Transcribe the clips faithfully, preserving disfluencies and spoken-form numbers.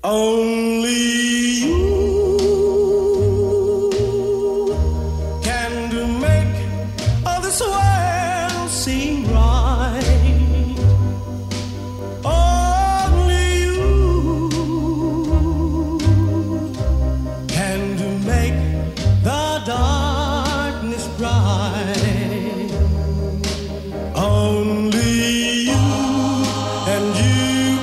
Only you can to make all this world seem right. Only you can to make the darkness bright. Only you and you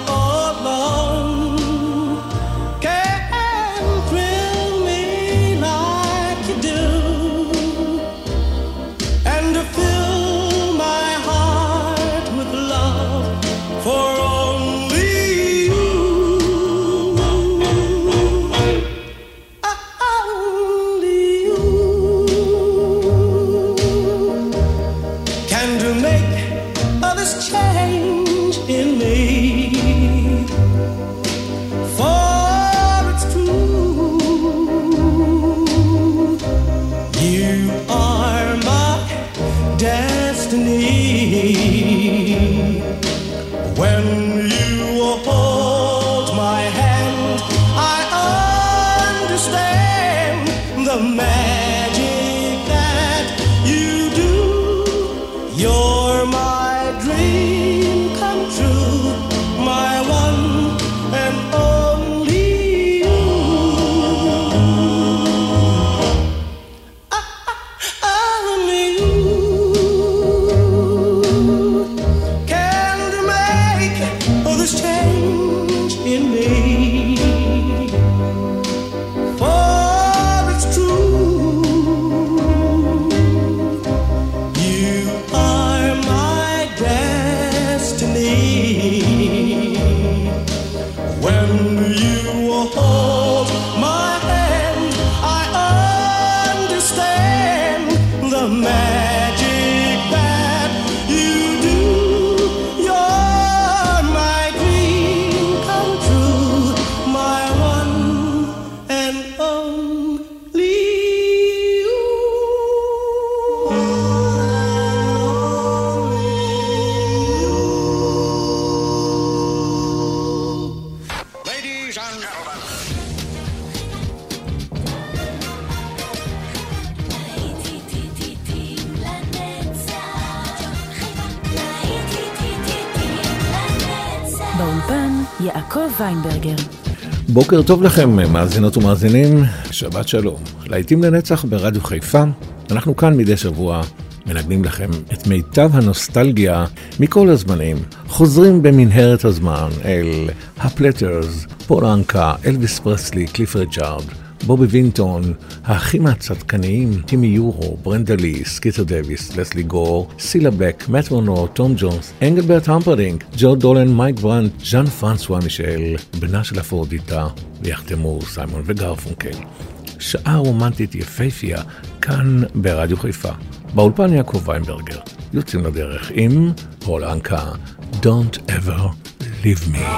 יעקב ויינברגר. בוקר טוב לכם, מאזינות ומאזינים, שבת שלום. להיטים לנצח ברדיו חיפה, אנחנו כאן מדי שבוע מנגנים לכם את מיטב הנוסטלגיה מכל הזמנים. חוזרים במנהרת הזמן אל הפלטרס, פול אנקה, אלוויס פרסלי, קליף ריצ'ארד, בובי וינטון, האחים הצדקניים, טימי יורו, ברנדה לי, סקיטר דוויס, לסלי גור, סילה בלק, מאט מונו, תום ג'ונס, אנגלברט המפרדינג, ג'ו דולן, מייק ברנט, ז'אן פרנסואה מישל, בנה של אפרודיטה, ויחתמו סיימון וגרפונקל. שעה רומנטית יפהפייה, כאן ברדיו חיפה. באולפן יעקב ויינברגר, יוצאים לדרך עם פול אנקה, Don't ever leave me.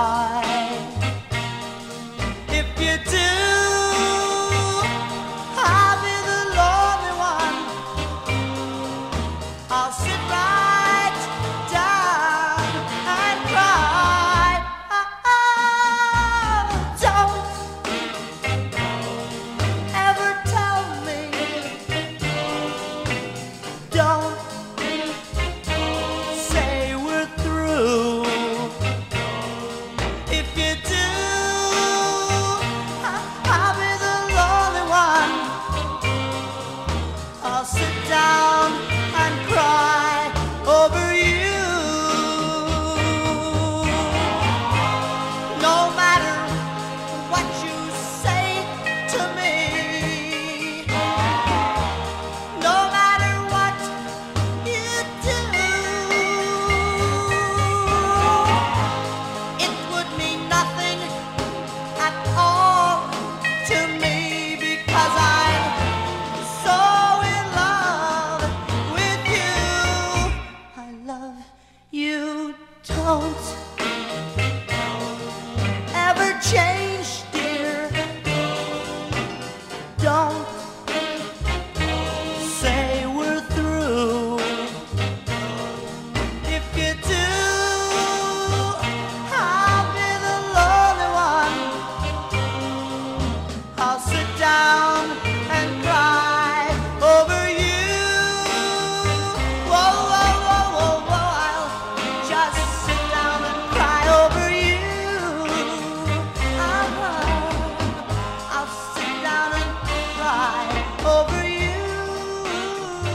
If you do,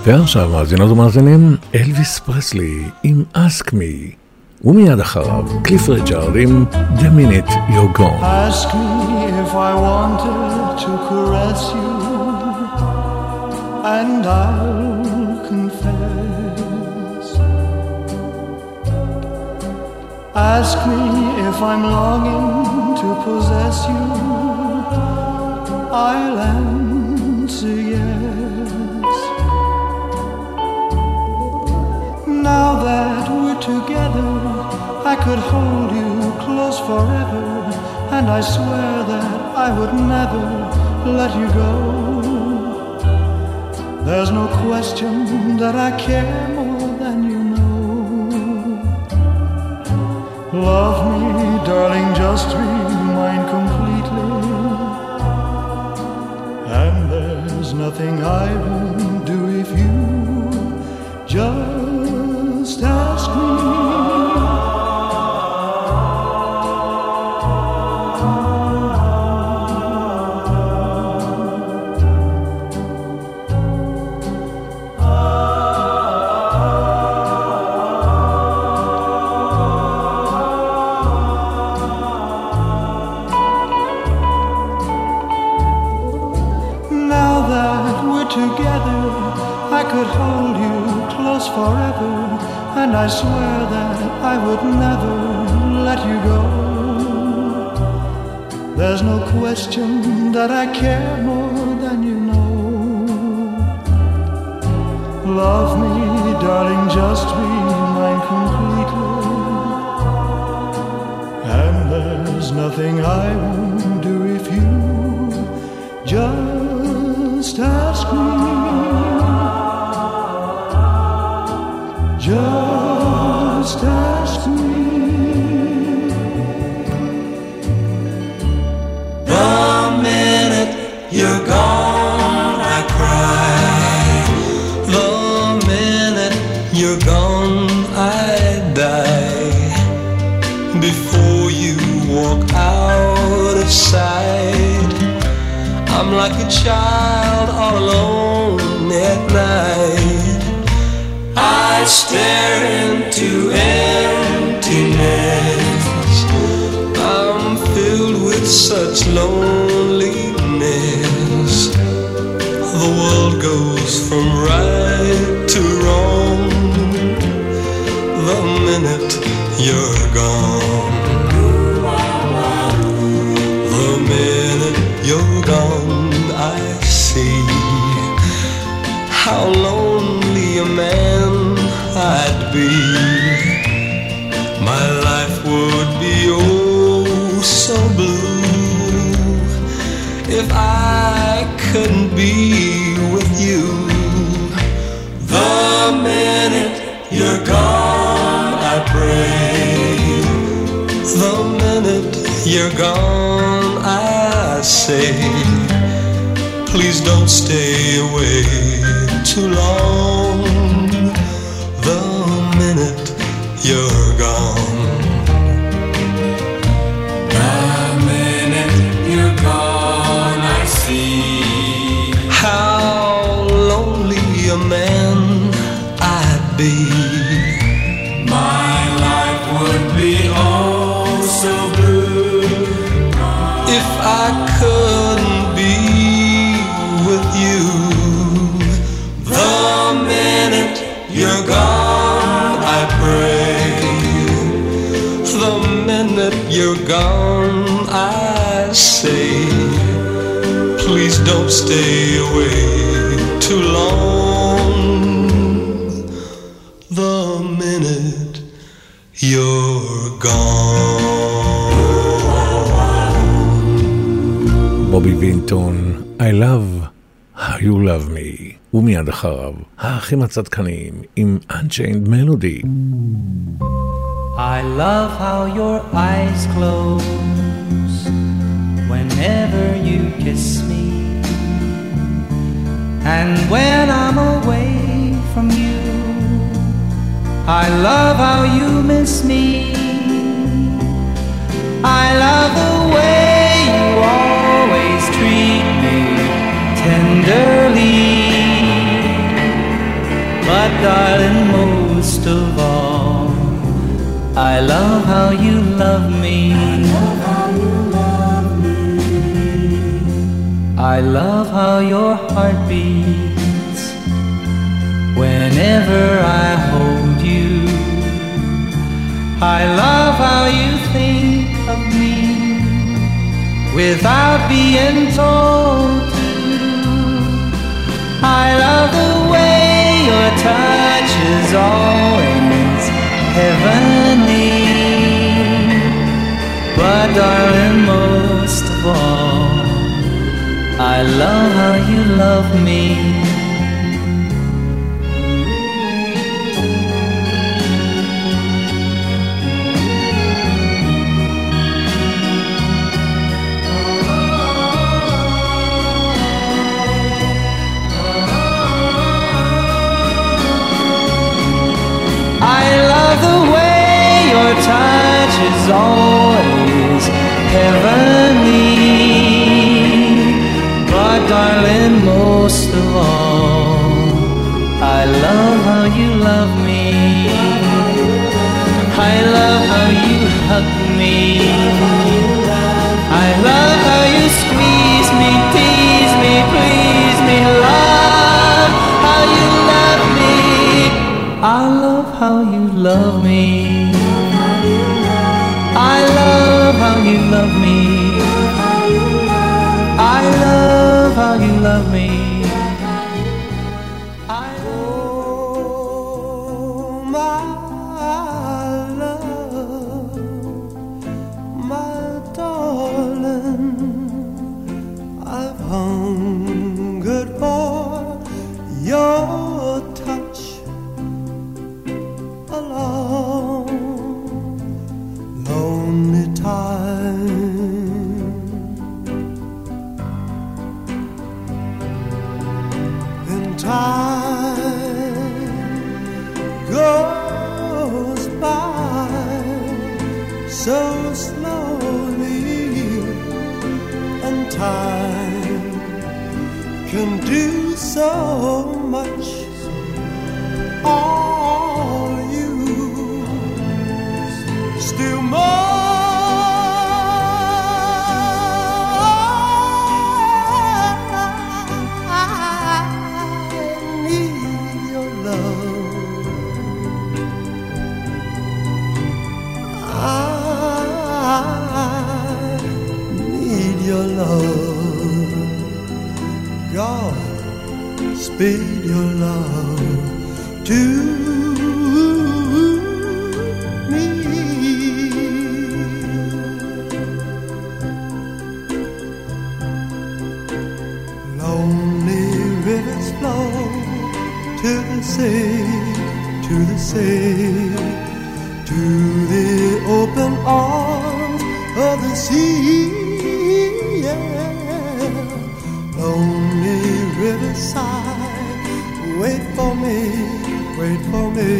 ועכשיו מאזינות ומאזינים, אלוויס פרסלי עם Ask Me, ומיד אחריו קליף ריצ'ארד עם The Minute You're Gone. Ask me if I wanted to caress you, and I'll confess. Ask me if I'm longing to possess you, I'll answer yes. Now that we're together, I could hold you close forever, and I swear that I would never let you go. There's no question that I care more than you know. Love me, darling, just be mine completely, and there's nothing I won't do if you just ask me. Together, I could hold you close forever, and I swear that I would never let you go. There's no question that I care more than you know. Love me, darling, just be mine completely, and there's nothing I won't do if you just ask me. Just ask me. The minute you're gone, I cry. The minute you're gone, I die. Before you walk out of sight, I'm like a child all alone at night. I stare into emptiness. I'm filled with such loneliness. The world goes from right to wrong the minute you're gone. The minute you're gone, I see how lonely a man I'd be. My life would be oh so blue if I couldn't be with you. The minute you're gone, I pray. The minute you're gone, I say, please don't stay away too long. The minute you're gone. The minute you're gone, I see how lonely a man I'd be. My life would be oh so blue if I couldn't be with you. The minute you're gone, I pray. The minute you're gone, I say, please don't stay away too long. The minute you're gone. בובי וינטון, I love how you love me. ומיד אחריו, האחים הצדקניים עם Unchained Melody. I love how your eyes close whenever you kiss me, and when I'm away from you, I love how you miss me. I love the way you always treat me tenderly. darling, most of all, I love how you love me. I love how your heart beats whenever I hold you. I love how you think of me without being told to. I love the way your touch is always heavenly. But darling, most of all, I love how you love me. I love the way your touch is always heavenly. But darling, most of all, I love how you love me. I love how you hug me. I love how you squeeze me, tease me, please me. Love how you love me. I love how you love me. I love how you love me. I love how you love me. I Oh, my love, my darling, I've hungered for your touch a long, lonely time. Time goes by so slowly, and time can do so much. All you still more. God, speed your love to me. Lonely rivers flow to the sea, to the sea, to the open arms of the sea. Lonely riverside, wait for me, wait for me.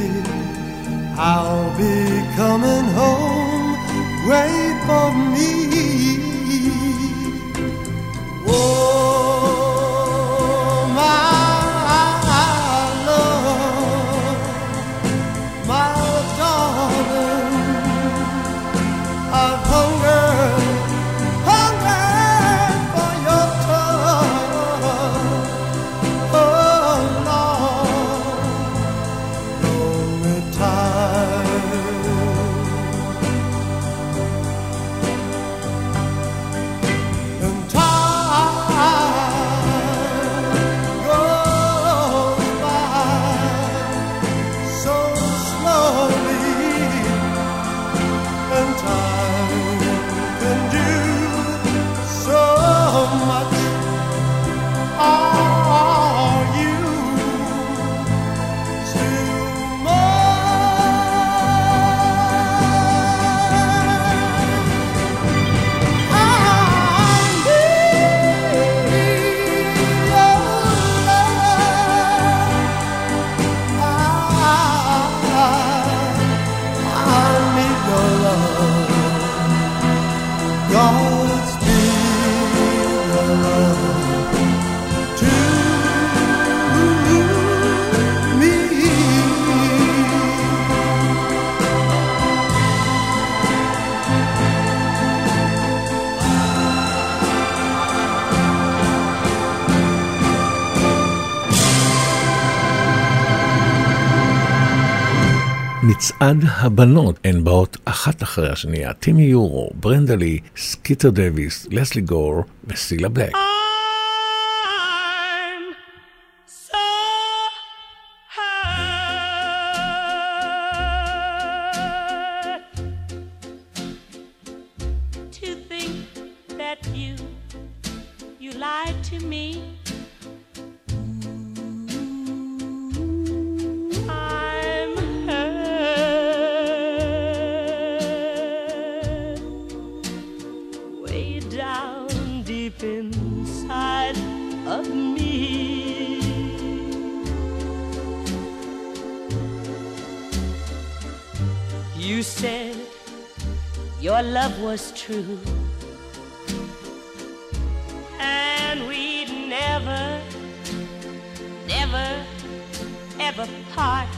I'll be coming home, wait for me. Oh, my love, my darling, I've hungered. מצעד הבנות, הן באות אחת אחרי השנייה, טימי יורו, ברנדה לי, סקיטר דוויס, לסלי גור וסילה בלק. You said your love was true, and we'd never, never, ever part.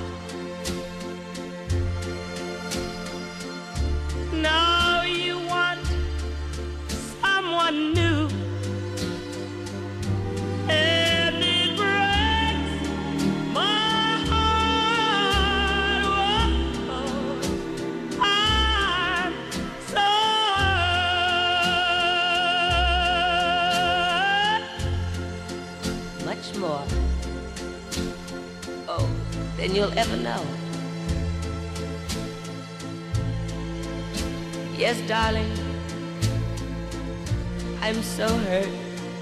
Now you want someone new, and it breaks my heart. Whoa, I'm so hurt. Much more, oh, than you'll ever know. Yes, darling, I'm so hurt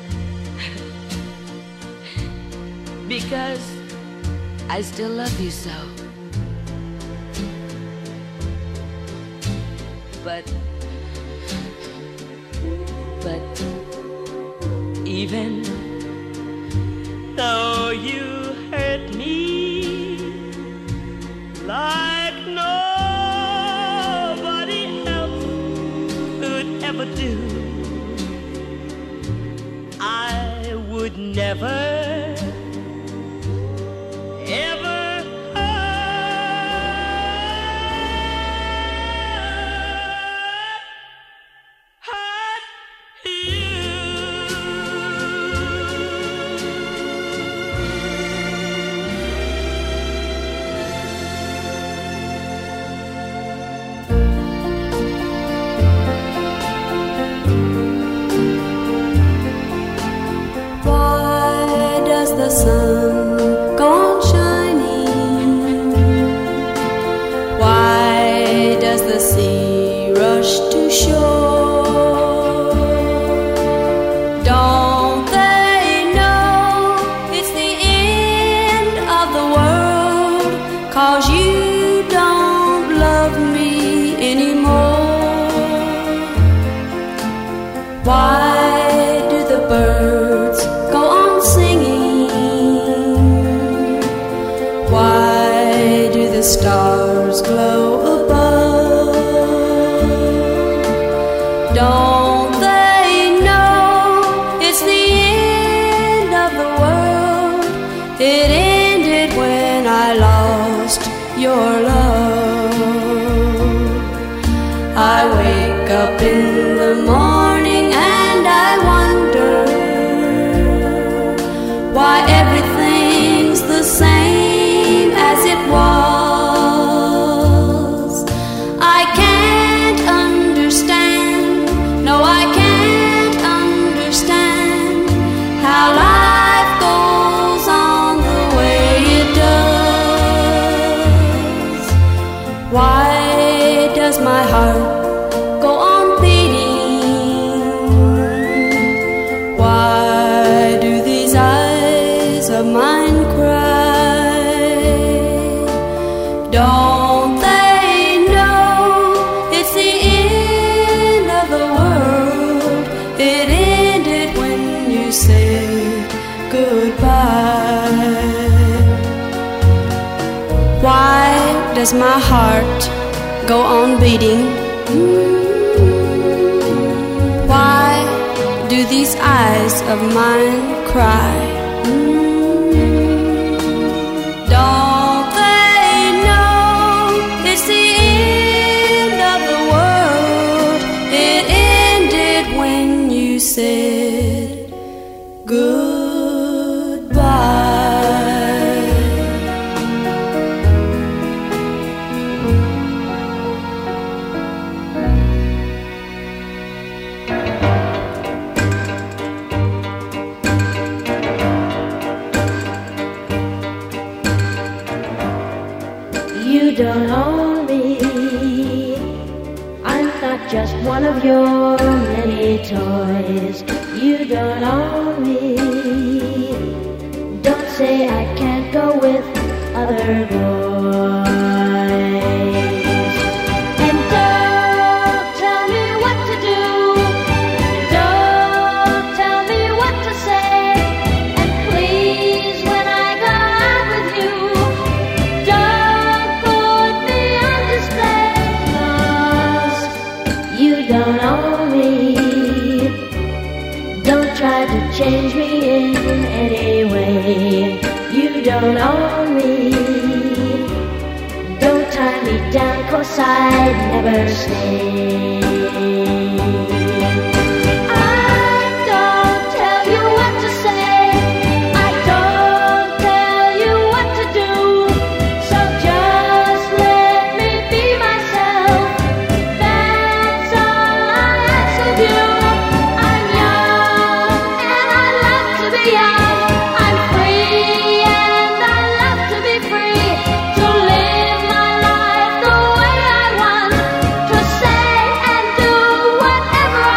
because I still love you so. But, but even though you hurt me like nobody else could ever do, I would never, ever hurt, hurt you. Why does the sun go on shining? Why does the sea rush to shore? Don't they know it's the end of the world? 'Cause you don't love me anymore. Why do the birds go on singing? Why do the stars glow above? Don't they know it's the end of the world? It ended when I lost your love. I wake up in the morning and I wonder why everything's the same as it was. I can't understand, no I can't understand how life goes on the way it does. Why does my heart go on beating? Why do these eyes of mine cry? Don't they know it's the end of the world? It ended when you said goodbye. Why does my heart go on beating? Why do these eyes of mine cry? Don't they know it's the end of the world? It ended when you said goodbye. toys. You don't own me. Don't say I can't go with other boys. And don't tell me what to do. Don't tell me what to say. And please, when I go out with you, don't put me on display. 'Cause you don't own me. Don't try to change me in any way. You don't own me. Don't tie me down, 'cause I'd never stay. I don't tell you what to say. I don't tell you what to do. So just let me be myself. That's all I ask of you. I'm young and I love to be young. I'm free and I love to be free. To live my life the way I want. To say and do whatever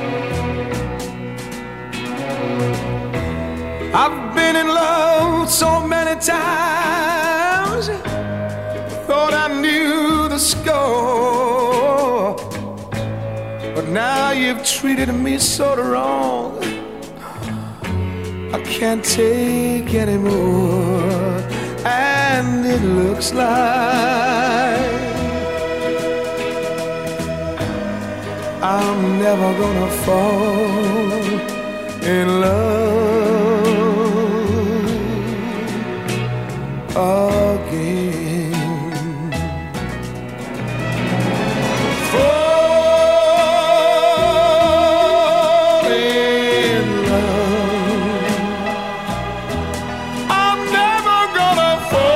I've been in love so many times, thought I knew the score, but now you've treated me so wrong, I can't take anymore. And it looks like I'm never gonna fall in love again. Fall in love. I'm never gonna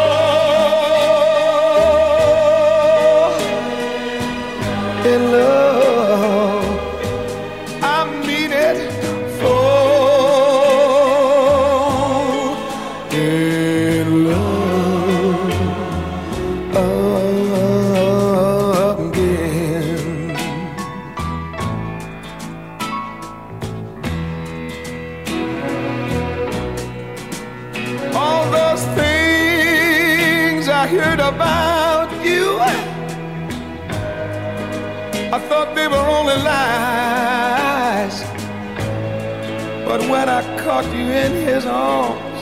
fall in love. I mean it. Fall in love again. All those things I heard about you, I thought they were only lies, but when I caught you in his arms,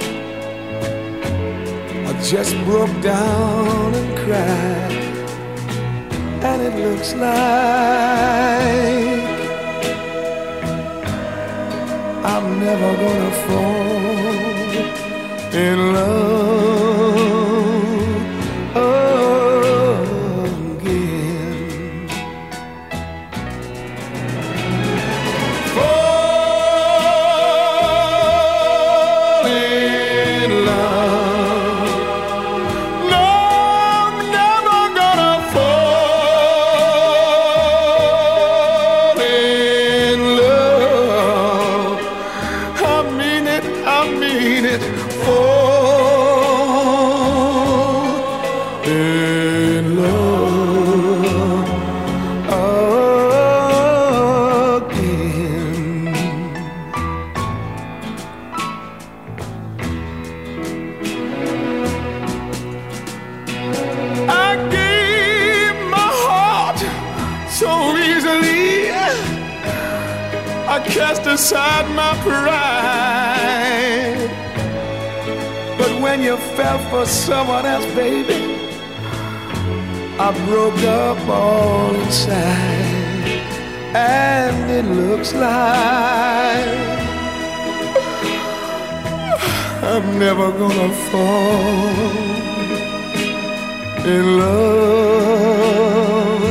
I just broke down and cried. And it looks like I'm never gonna fall in love again. Fall in love. No, I'm never gonna fall in love. I mean it, I mean it. Fall in love again. I gave my heart so easily, I cast aside my pride. But when you fell for someone else, baby, I broke up all inside. And it looks like I'm never gonna fall in love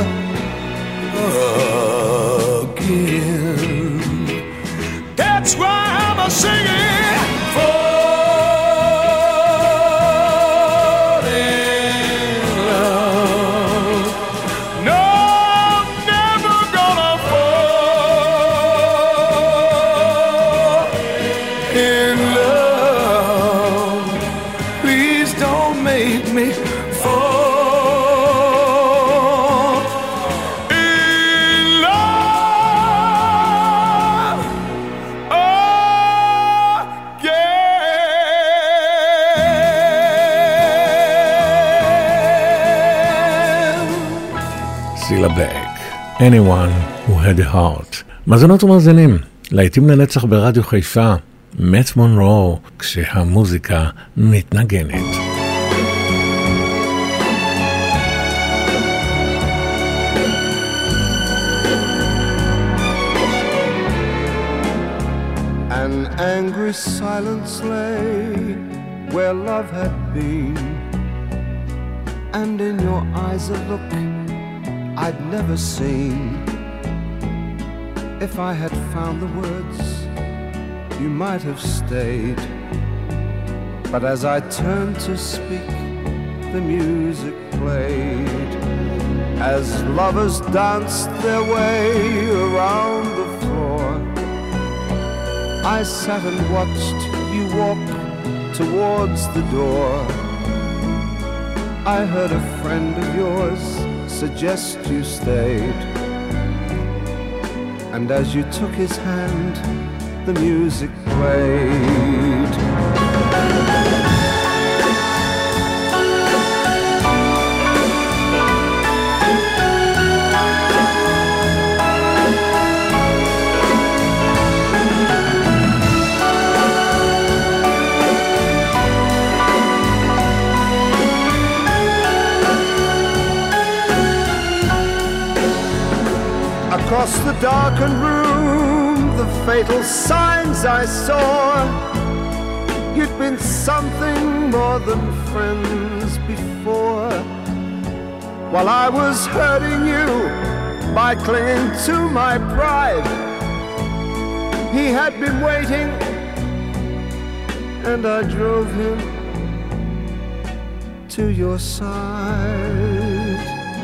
again. That's why I'm a singing. Fall in love. No, I'm never gonna fall in love. Please don't make me fall in love again. סילה בלק, Anyone who had a heart. מאזינות ומאזינים, להיטים לנצח ברדיו חיפה, מאט מונרו, כשהמוזיקה מתנגנת. An angry silence lay where love had been, and in your eyes a look I'd never seen. If I had found the words, you might have stayed. But as I turned to speak, the music played. As lovers danced their way around the floor, I sat and watched you walk towards the door. I heard a friend of yours suggest you stayed, And as you took his hand, the music played. Across the darkened room, the fatal signs I saw. You'd been something more than friends before. While I was hurting you by clinging to my pride, he had been waiting, and I drove him to your side.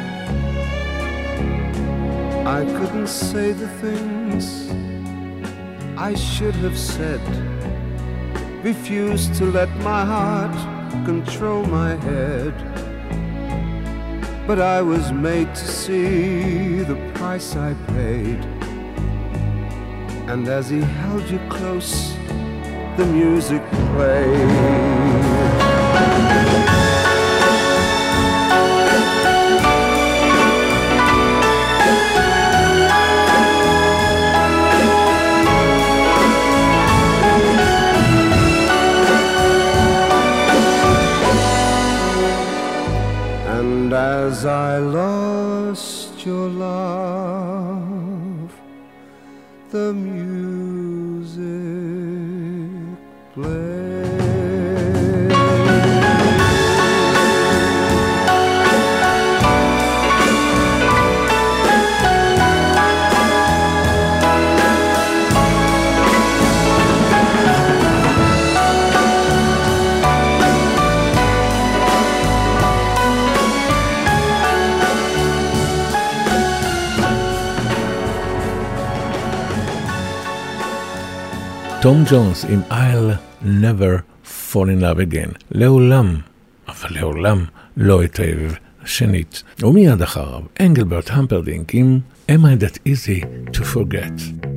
I couldn't say the things I should have said, refused to let my heart control my head. But I was made to see the price I paid. And as he held you close, the music played. And as I lost your love, the music played. תום ג'ונס עם I'll never fall in love again. לעולם, אבל לעולם לא אתאהב שנית. ומיד אחריו, אנגלברט המפרדינק עם Am I that easy to forget?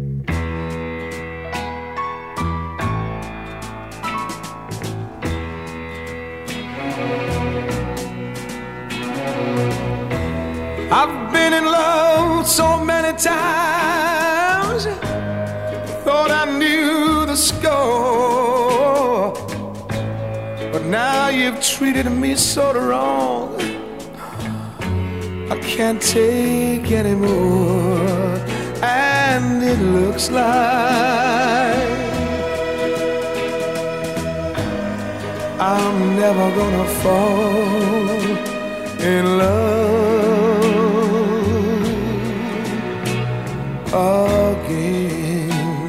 I've been in love so many times, thought I knew the score, but now you've treated me so wrong, I can't take anymore. And it looks like I'm never gonna fall in love again.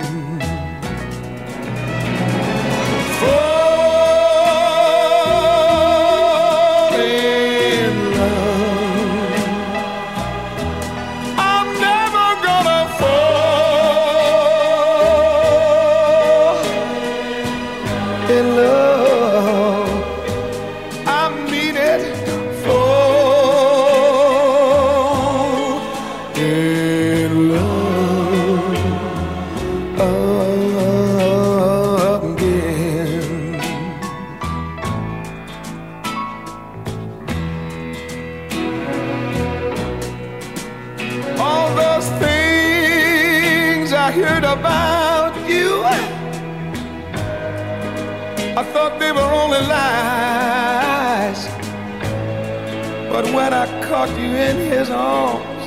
They were only lies, but when I caught you in his arms,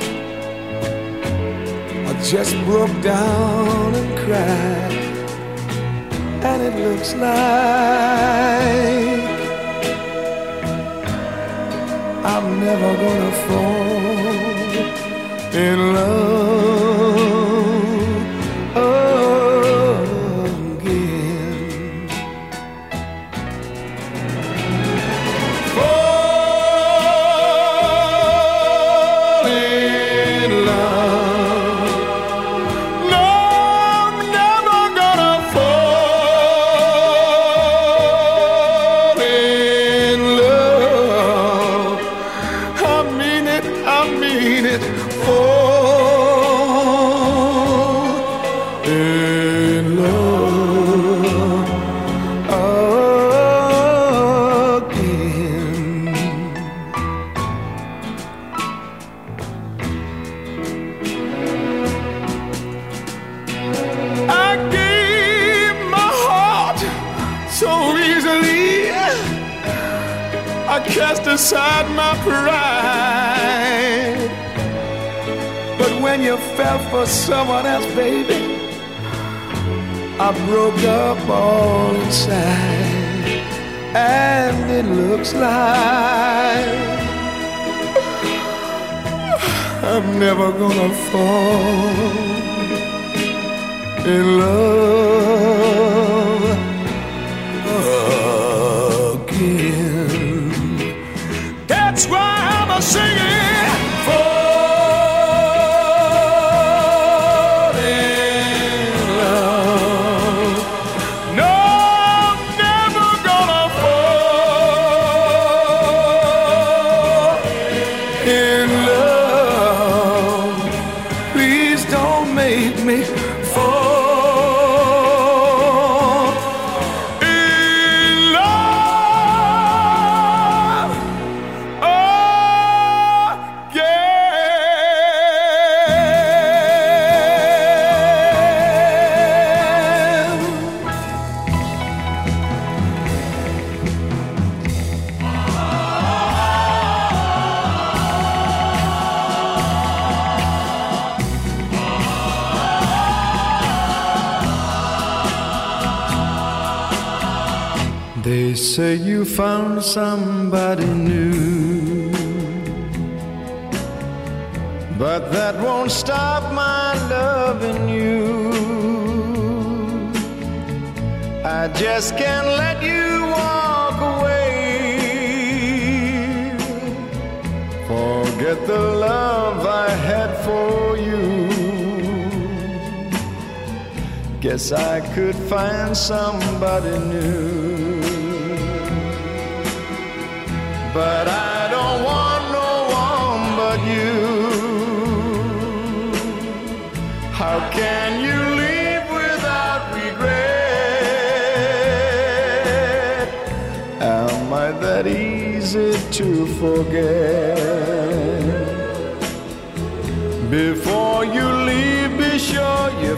I just broke down and cried. And it looks like I'm never gonna fall in love again. Fall in love. No, I'm never gonna fall in love. I mean it, I mean it. Fall in love again. I gave my heart so easily, I cast aside my pride. But when you fell for someone else, baby, I broke up all inside. And it looks like I'm never gonna fall in love again. That's why I'm a singing for They say you found somebody new, but that won't stop my loving you. I just can't let you walk away. Forget the love I had for you. Guess I could find somebody new. But I don't want no one but you. How can you leave without regret? Am I that easy to forget? Before you leave, be sure you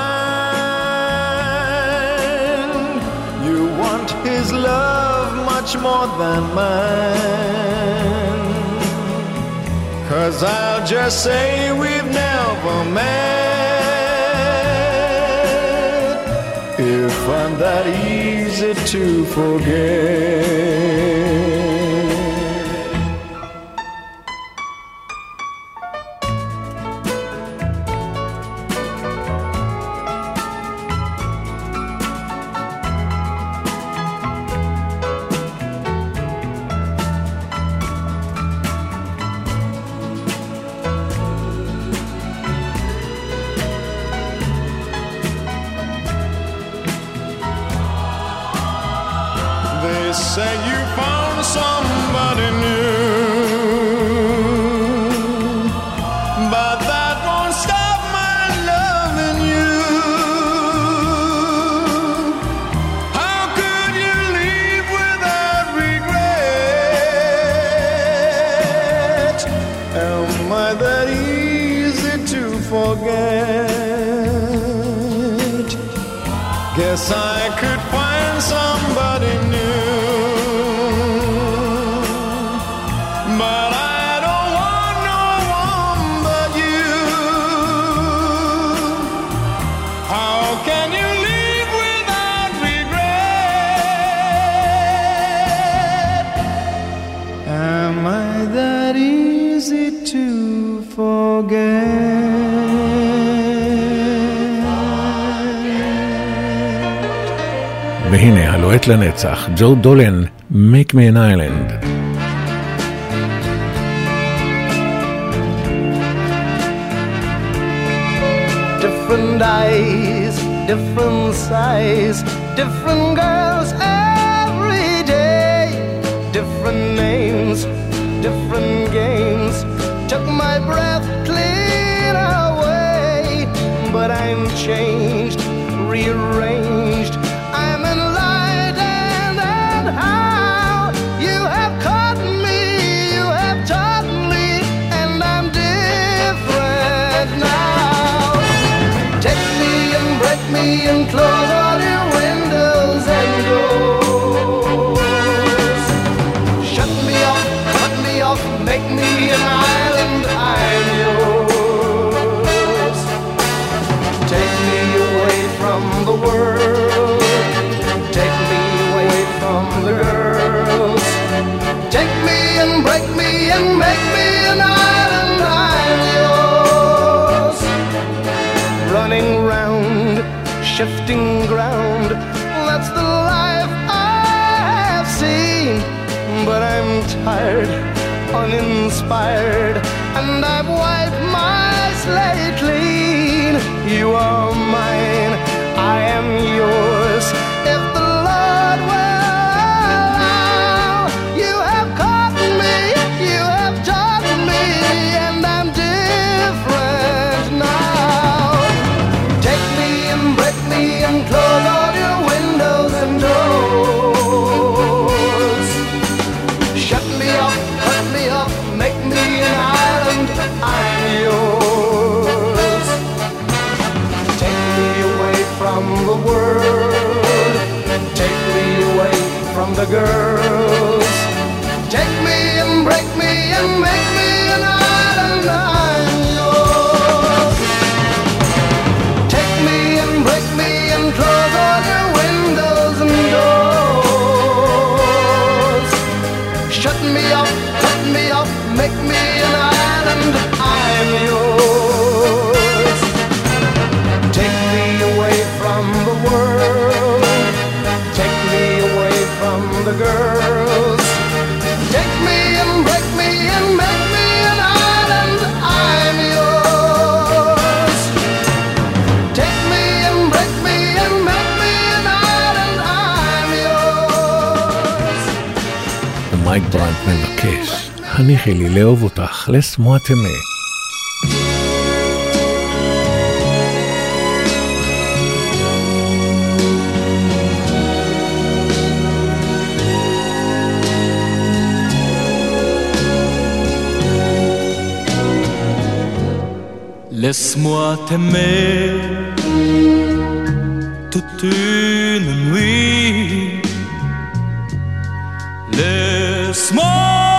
find you want his love much more than mine. 'Cause I'll just say we've never met if I'm that easy to forget. Say you found somebody new, but that won't stop my loving you. How could you leave without regret? Am I that easy to forget? Guess I could find somebody new. והנה הלוהט לנצח, ג'ו דולן, Make Me an Island. Different eyes, different size, different girls every day, different names, different games, took my breath clean away, but I'm changed, rearranged. I'm enlightened and how you have caught me, you have taught me, and I'm different now. Take me and break me and close all your windows and doors. Shut me off, cut me off, make me an island, I'm yours. Take me away from the world, take me away from the girls. Take me and break me and make me an island, I'm yours. Running round, shifting ground, that's the life I've seen. But I'm tired, uninspired, and I've wiped my slate clean. You are mine, I am yours. If the Lord will allow, you have caught me, you have taught me, and I'm different now. Take me and break me and close all your windows and doors. Shut me off, cut me off, make me an island, I'm yours. Take me away from the world, take me away from the girls. Take me and break me and make me an island, I'm yours. Take me and break me and close all your windows and doors. Shut me off, cut me off, make me an island, I'm yours. Take me away from the world, take me away from the girls. Take me and break me and make me an island, I'm yours. Take me and break me and make me an island, I'm yours. ומייק ברנט מבקש, הניחי לי לאהוב אותך, לסמוע תמה. Laisse-moi t'aimer toute une nuit. Laisse-moi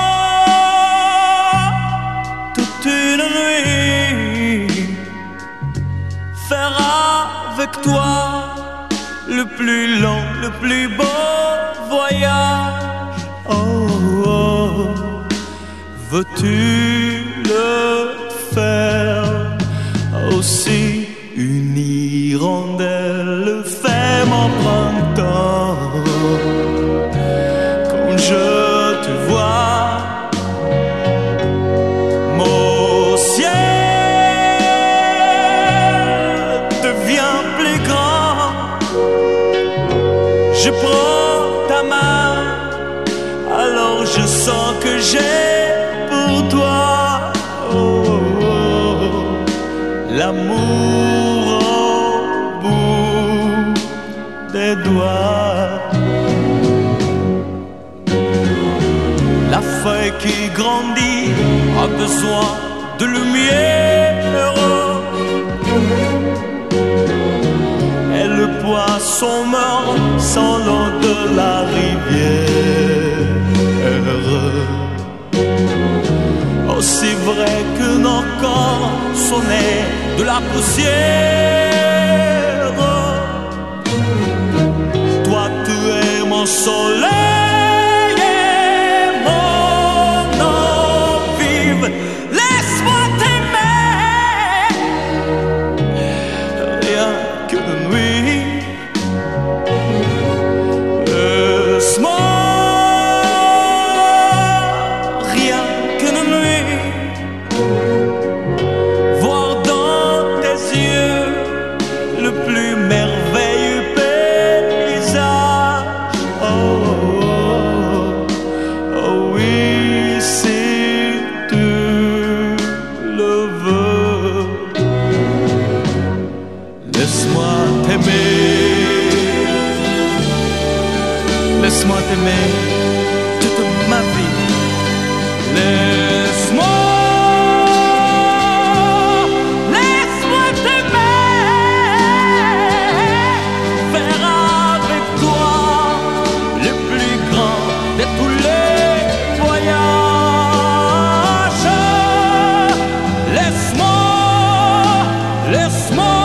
toute une nuit faire avec toi le plus long, le plus beau voyage. Oh, oh. Veux-tu le faire aussi? Une hirondelle fait mon printemps. Quand je te vois, mon ciel devient plus grand. Je prends ta main, alors je sens que j'ai pour toi oh, oh, oh, l'amour au bout des doigts. La feuille qui grandit a besoin de lumière. Et le poisson meurt sans l'eau de la rivière. Aussi vrai que nos corps sont nés de la poussière. Toi tu es mon soleil et mon eau vive. Laisse-moi t'aimer rien qu'une nuit. Laisse-moi t'aimer laisse-moi t'aimer toute ma vie. Laisse-moi, laisse-moi t'aimer, faire avec toi le plus grand de tous les voyages. Laisse-moi, laisse-moi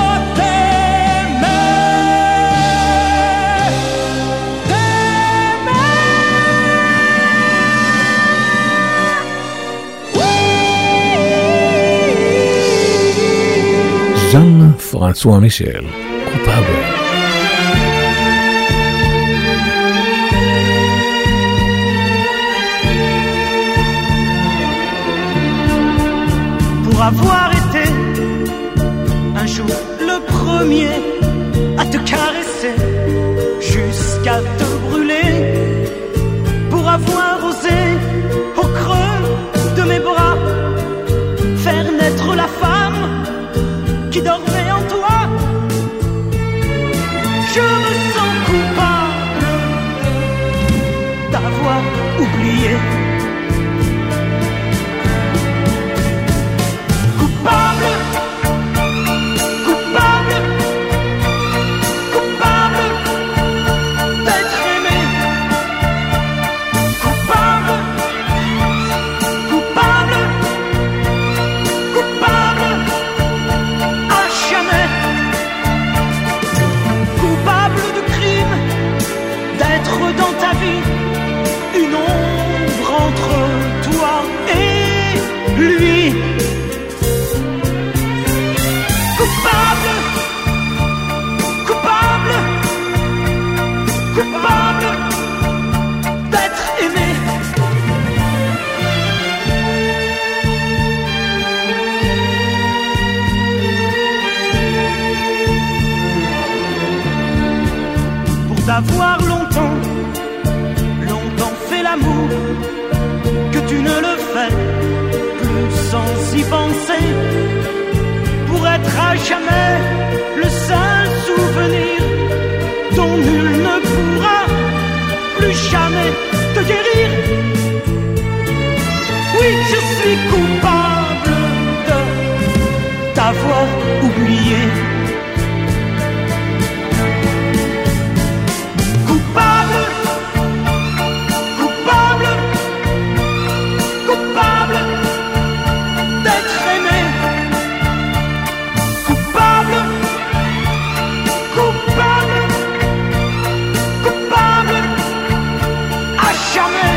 Jean-François Michel, coupable. Pour avoir été un jour le premier à te caresser jusqu'à te brûler, pour avoir osé au creux de mes bras faire naître la femme qui dormait en toi, je me sens coupable d'avoir oublié. Coupable, coupable, coupable d'être aimé. Coupable, coupable, coupable à jamais. Coupable de crime, d'être dans ta vie une ombre entre toi et lui. Coupable, coupable, coupable d'être aimé. Pour t'avoir longtemps, longtemps fait l'amour, que tu ne le fais plus sans y penser. Pour être à jamais le seul souvenir dont nul ne pourra plus jamais te guérir. Oui, je suis coupable de t'avoir oublié. Coupable, coupable, coupable d'être aimé. Coupable, coupable, coupable à jamais.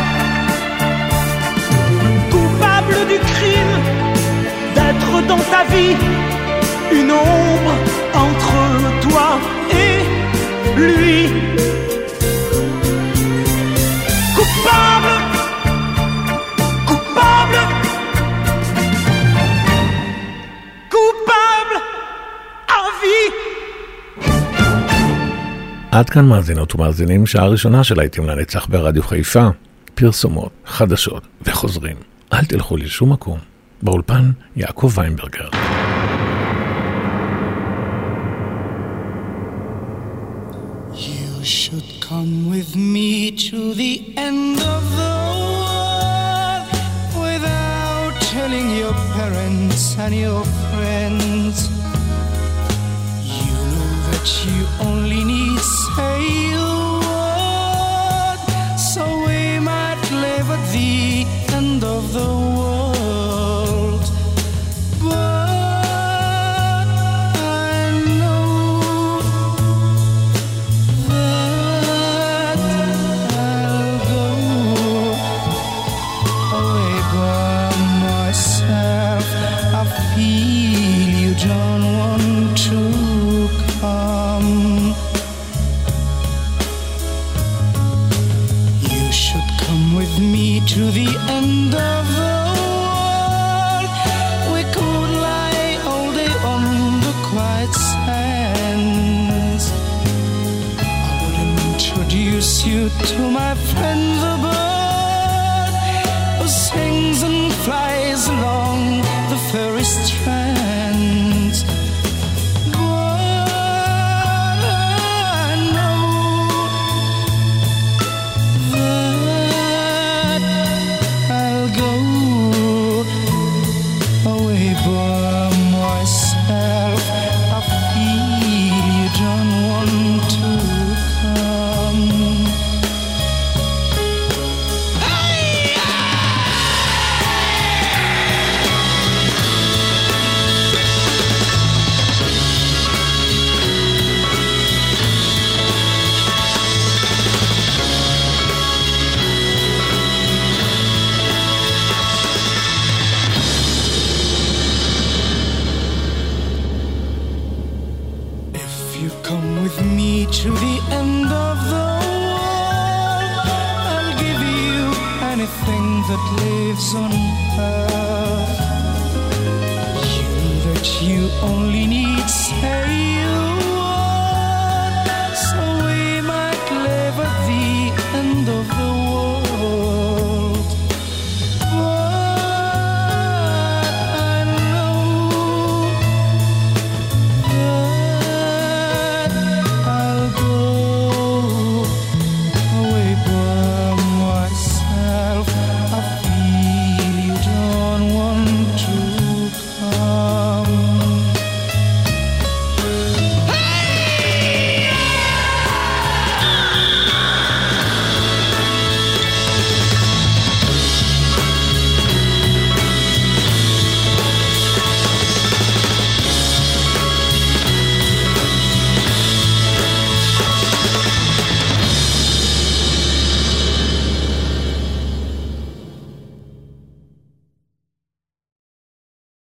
Coupable du crime d'être dans ta vie une ombre entre toi et lui. Coupable, coupable, coupable à vie. עד כאן מאזינות ומאזינים, שעה ראשונה של להיטים לנצח ברדיו חיפה, פרסומות, חדשות וחוזרים. אל תלכו לשום מקום. באולפן יעקב ויינברגר. You should come with me to the end of the world without telling your parents and your friends. You know that you only need say a word, so we might live at the end of the world. But I know that I'll go away by myself. I feel you don't want to come. You should come with me to the end of the world. We could lie all day on the quiet sands. I would introduce you to my friend the bird who sings and flies along the fairy strands. But I know come with me to the end of the world, I'll give you anything that lives on earth. You that you only need, say you